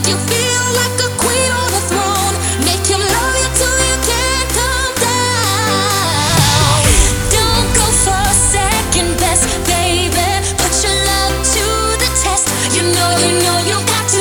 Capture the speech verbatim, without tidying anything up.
You feel like a queen on a throne. Make you love you till you can't come down. Don't go for second best, baby. Put your love to the test. You know, you know you got